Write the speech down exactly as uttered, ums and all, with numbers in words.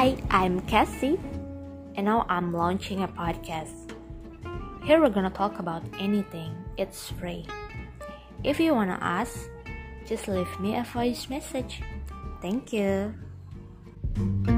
Hi, I'm Cassie, and now I'm launching a podcast. Here we're gonna talk about anything, it's free. If you wanna ask, just leave me a voice message. Thank you.